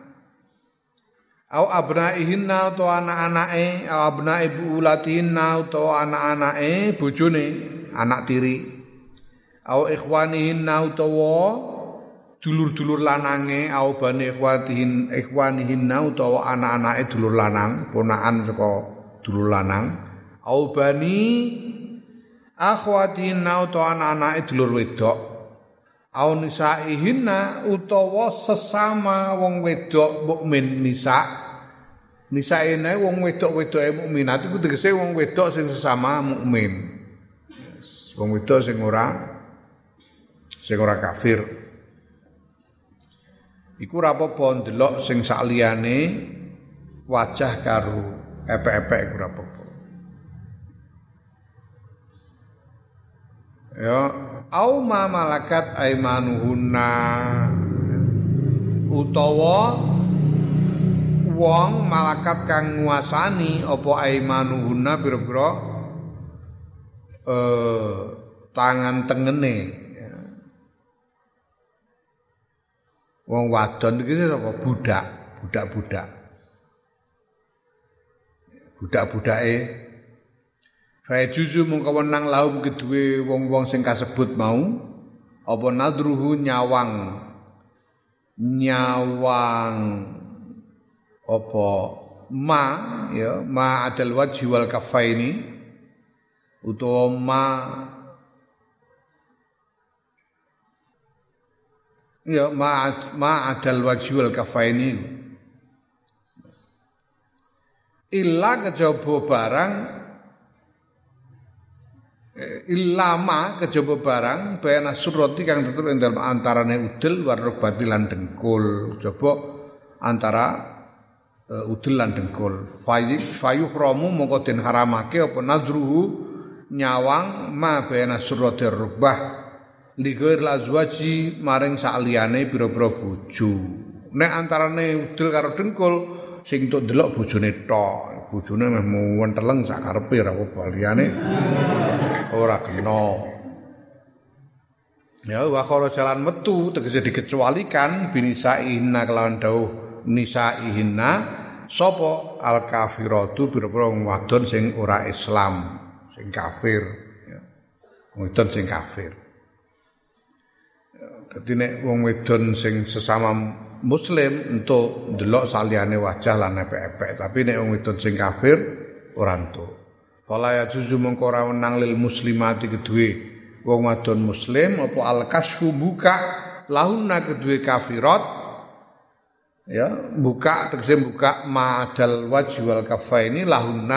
au abnaihinna utawa anak-anake au abnai buulatihinna utawa anak-anake bojone anak tiri au ikhwanihinna utawa dulur-dulur lanange au bani ikhwatihin ikhwanihinna utawa anak-anake dulur lanang ponakan saka dulur lanang au bani akhwatihinna utawa anak-anake dulur wedok au nisaihinna utawa sesama wong wedok mukmin nisa nisaene wong wedok-wedoke mukminat iku tegese wong wedok sing sesama mukmin wong wedok sing ora sing ora kafir iku ora apa-apa ndelok sing sakliyane wajah karo epek-epek iku ora apa-apa. Ya, au ma malakat aimanuhunna utawa wong malakat kang nguasani apa aimanuhunna pira-pira eh tangan tengene wong wadon iki sapa budak, budak-budak. Budak-budake fa juzu mungko wenang lahum kedue wong-wong sing kasebut mau apa nadruhu nyawang nyawang apa ma ya ma adal wajhi wal kafaini utawa ma ya ma ma adal wajhi wal kafaini illa kejaba barang ilama kejaba barang bayana surati kang tetep ing dalem antarane udel warobati lan dengkul coba antara uh, udel lan dengkul fayu fayuhramu mongko den haramake apa nazruhu nyawang ma bayana surati rubah ligair lazwaji maring sakliyane pira-pira bojo nek antarane udel karo dengkul sing entuk delok bojone tok bojone meh menteleng sak karepe ora apa liyane ora kena. Ya wa jalan metu tegese dikecualikan binisaihinna kelawan dawuh nisaihinna sapa al kafiratu pira-pira wong wadon sing ora Islam, sing kafir ya. Wadon sing kafir. Dadi nek wong wedon sing sesama muslim entuk ndelok saliyane wajah lan epek-epek, tapi nek wong wedon sing kafir ora entuk. Fala ya juzu mengko ora wenang lil muslimati kedue wong wadon muslim apa al-kasfu buka lahunna kedue kafirat ya buka tegese buka ma'adal wajhi wal kaffaini lahunna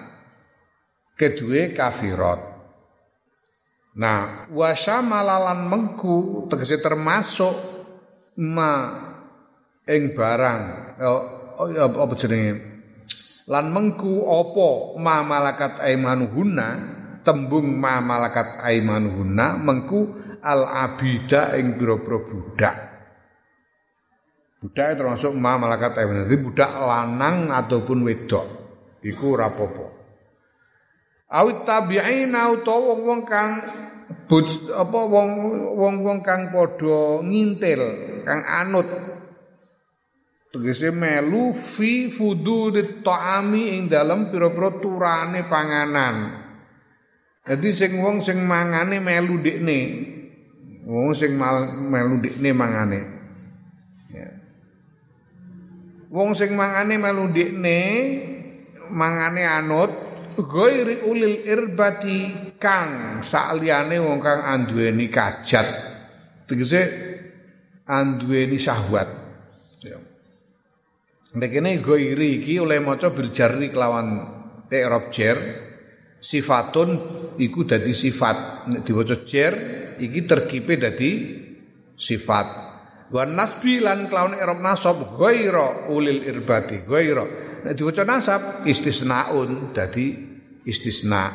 kedue kafirat. Nah wasamalalan mengku tegese termasuk ma ing barang oh ya apa jenenge lan mengku apa ma malakat aimanuhunna tembung ma malakat aimanuhunna mengku al abida ing pira-pira budak. Budak termasuk ma malakat aimanuhunna, budak lanang ataupun wedok iku ora apa-apa. Awit tabi'ina utawa wong-wong kang apa wong-wong kang padha ngintil, kang anut. Tegese melu fi fududit ta'ami ing dalem pira-pira turane panganan. Jadi sing wong sing mangane melu ndekne. Wong sing melu ndekne mangane. Ya. Wong sing mangane melu ndekne mangane anut ghairi ulil irbati kang sakliyane wong kang anduweni kajat. Tegese anduweni syahwat. Ya. Nek kene ghairi iki oleh maca bil jarri kelawan i'rab jar. Sifatun iku dadi sifat nek diwaca jar iki terkipe dadi sifat wa nasbi lan kelawan i'rab nasab ghaira ulil irbati ghaira nek diwaca nasab istisnaun dadi istisna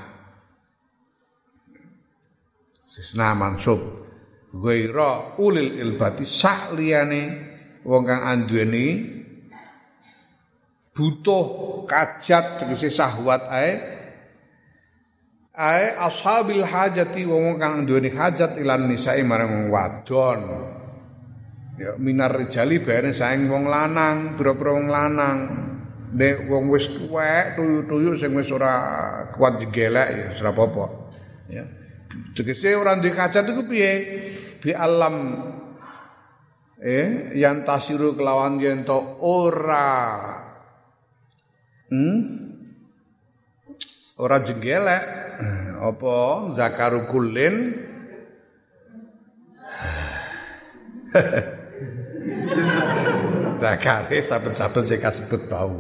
istisna mansub ghaira ulil irbati sak liyane wong kang anduweni butuh kajat tegese syahwat ae ae ashabil hajati wong kang duweni hajat ilan nisae marang wong wadon ya minar rijali bareng saing wong lanang pira-pira wong lanang nek wong wis tuwek tuyu-tuyu sing wis ora kuat digelek ya ora apa-apa ya tegese ora duwe hajat iku piye bi alam eh yang tasiru kelawan yen to ora hmm ora jenggelek apa zakaru kullin zakare saben-saben sing kasebut bau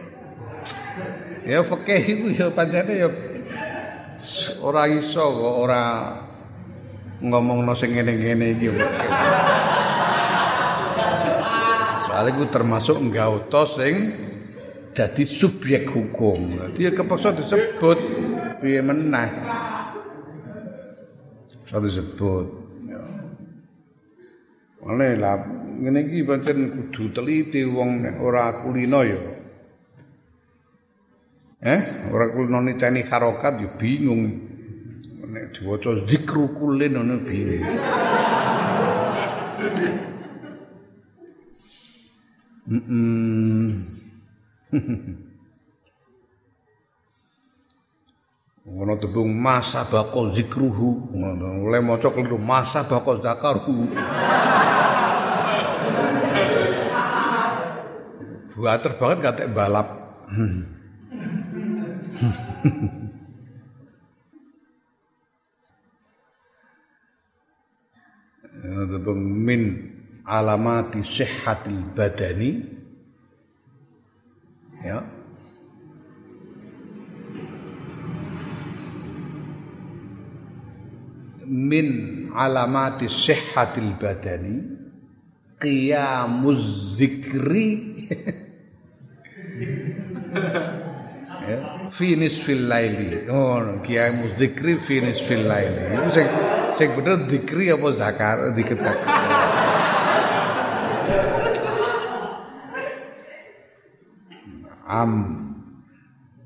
ya fikih iku ya pancene ya ora iso kok ora ngomongno sing ngene-ngene iki soalnya iku termasuk nggauta sing jadi subjek hukum. Dia kepaksa disebut piye meneh. Kepaksa disebut. Ya. Mane lah ngene iki pancen kudu teliti wong nek ora kulino ya. Eh, ora kulino niteni harokat ya bingung. Nek diwaca zikru kulin ngono bingung. Mm. Ngono tembung masa baqo zikruhu ngono oleh maca keliru masa baqo zakaruhu buater banget katek balap tembung min alamati sihhatil badani ya min alamati sihhatil badani qiyamuz zikri ya fi nisfil laili oh qiyamuz zikri fi nisfil laili itu sing sing bener zikri apa zakar dikit am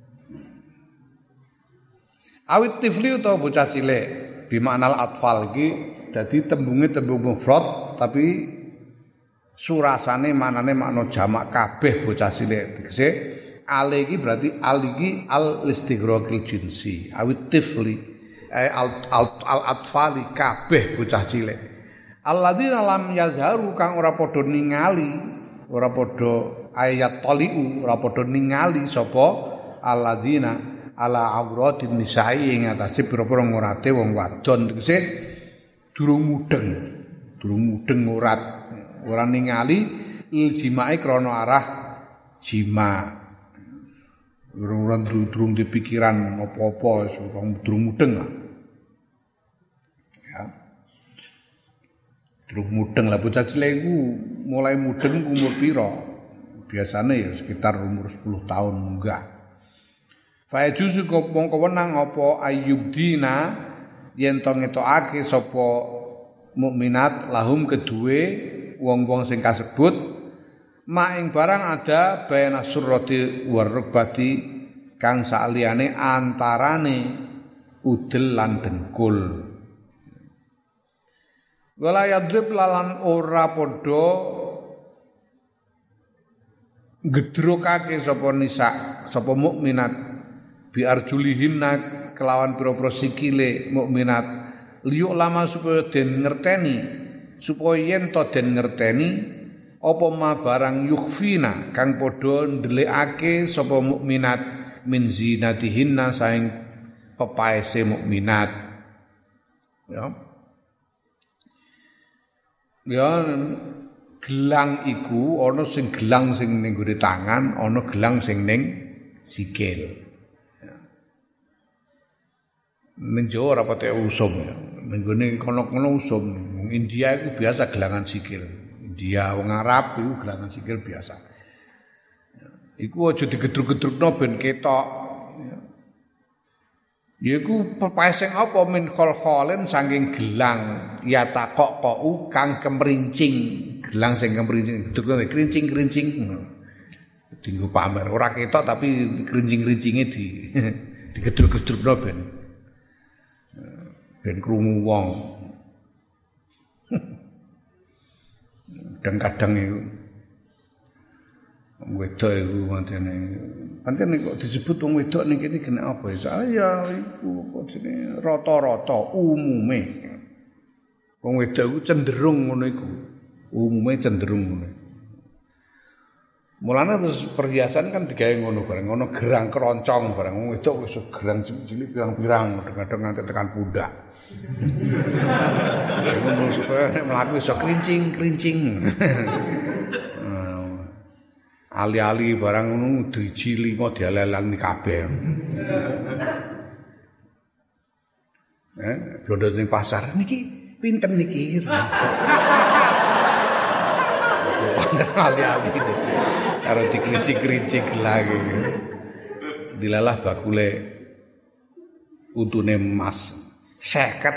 Awit tifli utawa bocah cilik bimaknal atfal iki dadi tembunge tembung mufrad tapi surasane manane makna jamak kabeh bocah cilik. Tegese al iki berarti al iki al istighraqil jinsi. Awit tifli al al atfali kabeh bocah cilik. Alladzina lam yazharu kang ora padha ningali, ora padha ayat taliu, ora padha ningali sapa alladzina ala auratin nisa'i ing atase pira-pira ngurate wong wadon tegese durung mudeng durung mudeng ngurat ora ningali il jimae krana arah jima durung durung dipikiran apa-apa wong durung mudeng lah ya durung mudeng lah bocah cilik iku mulai mudeng umur pira biasane ya sekitar umur sepuluh tahun munggah. Fa juzu mongko wenang apa ayyubdina yen to ngetokake sapa mukminat lahum kedue wong-wong sing kasebut mak ing barang ada bayana surrati warrubati kang saliyane antarane udel lan dengkul. Wala yadrib lalan ora padha gedrokake sapa nisa sapa mukminat biar julihinna kelawan pira-pira sikile mukminat liyuk lama supaya den ngerteni supaya yen to den ngerteni apa ma barang yukhfina kang padha ndelikake sapa mukminat min zinatihinna saing pepaese mukminat ya ya gelang iku ana sing gelang sing ning gone tangan ana gelang sing ning sikil. Menjo ora pate usum ya. Nenggone kono-kono usum. Wong India iku biasa gelangan sikil. India wong Arab iku gelangan sikil biasa. Iku aja digedruk-gedrukno ben ketok. Ya iku pepaesing apa min khol-kholen saking gelang ya takok kok kang kemrincing. Gelang sing kemrincing gedrukno krincing-krincing. Dinggo pamer ora ketok tapi krincing-krincinge di digedruk-gedrukno ben. Ben krungu wong. Kadang-kadang iku wedok iku mantene. Pancen kok disebut wong wedok ning kene kena apa ya? Saya iku kok jenenge rata-rata umume. Wong wedok iku cenderung ngono iku. Umume cenderung ngono. Mulane terus perhiasan kan digawe ngono bareng, ngono gerang keroncong bareng. Wong wedok wis gerang cilik pirang-pirang, kadang-kadang nganti tekan pundak. Ngono supaya nek mlaku iso krincing-krincing. Ali-ali barang ngono driji lima dialelani kabeh. Eh, blodot ning pasar niki pinten niki. Ali-ali karo dikrincing-krincing lagi. Dilalah bakule untune emas seket.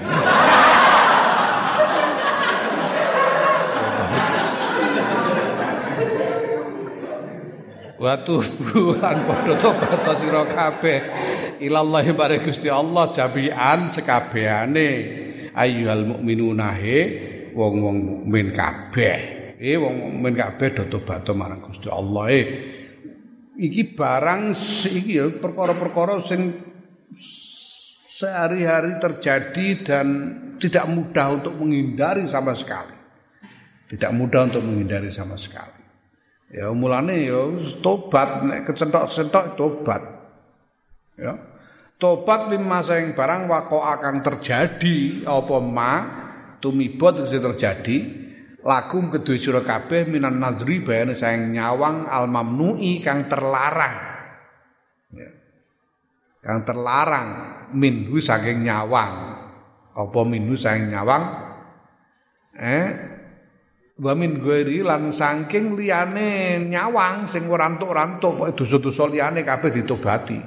Watu bulan padha tobat sira kabeh ilallahi bare Gusti Allah jabian sekabehane ayyuhal mukminuna he wong-wong mukmin kabeh. Eh wong mukmin kabeh do tobat marang Gusti Allah. Eh iki barang iki ya perkara-perkara sing sehari-hari terjadi dan tidak mudah untuk menghindari sama sekali. Tidak mudah untuk menghindari sama sekali. Ya mulane ya tobat nek kecentok-centok tobat. Ya. Tobat lima saing barang wako akan terjadi apa ma tumibot itu terjadi lakum kedue sira kabeh minan nadri bayane saing nyawang al mamnui kang terlarang. Ya. Kang terlarang minhu saking nyawang. Apa minhu saking nyawang? Eh wa min ghairi lan saking liyane nyawang sing ora rantuk-rantuk pokoke dosa-dosa liyane kabeh ditobati.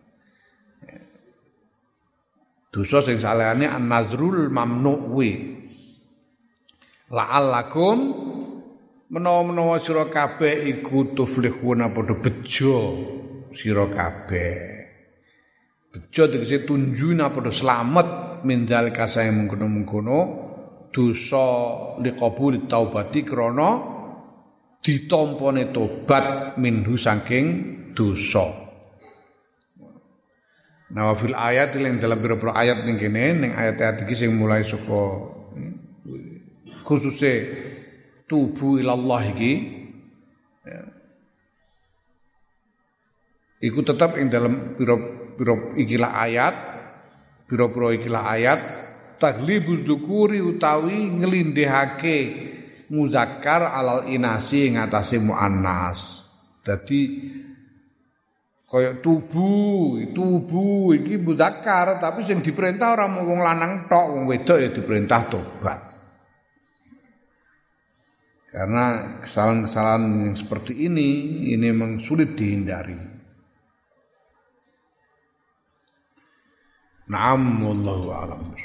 Dosa sing salehane an-nazrul mamnu'i. La'allakum menawa-menawa sira kabeh iku tuflihuna padha bejo sira kabeh. bejo tegese tunju napa selamat min zalika sae mengkono-mengkono dosa liqabul taubati krana ditampane tobat minhu saking dosa. Nah fil ayat yang dalam beberapa ayat ning kene ning ayat-ayat iki sing mulai saka khususe tubu ilallah iki ya. Iku tetap ing dalam pira-pira ikilah ayat pira-pira ikilah ayat taglibuz dzukuri utawi nglindhihake muzakkar alal inasi ing atase muannas. Dadi kaya tubuh, tubuh iki muzakkar tapi sing diperintah ora mung wong lanang tok, wong wedok ya diperintah tobat. Karena kesalahan-kesalahan yang seperti ini ini memang sulit dihindari. Na'am wallahu a'lam.